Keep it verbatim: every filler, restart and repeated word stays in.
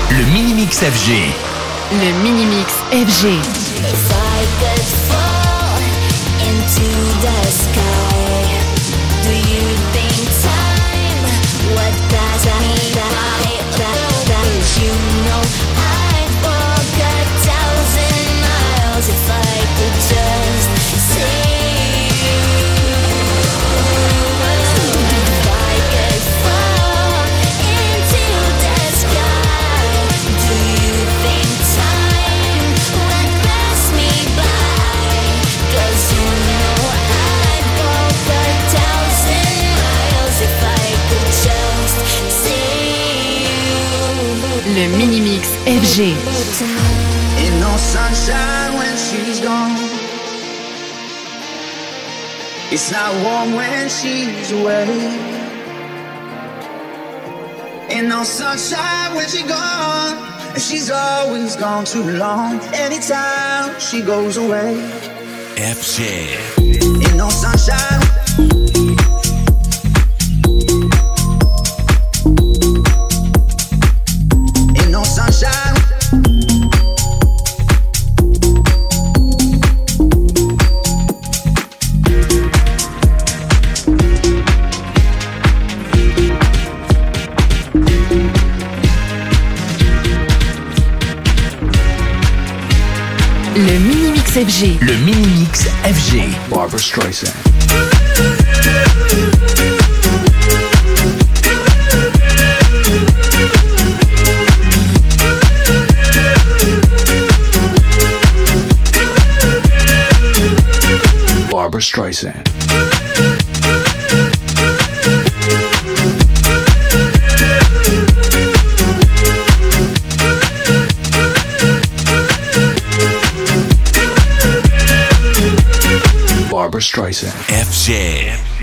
Le Mini-Mix F G. Le Mini-Mix F G. If I could fall into the sky, do you think time would pass me by? You know I'd walk a thousand miles if I could just see you. If I could fall into the sky, do you think time would pass me by? 'Cause you know I'd walk a thousand miles if I could just see you. Le Mini-Mix F G. Ain't no sunshine when she's gone. It's not warm when she's away. Ain't no sunshine when she's gone. And she's always gone too long. Anytime she goes away. F G. Ain't no sunshine. Ain't no sunshine. Le Mini-Mix F G. Le Mini-Mix F G. Barbara Streisand. Barbara Streisand. Barbara Streisand. F G.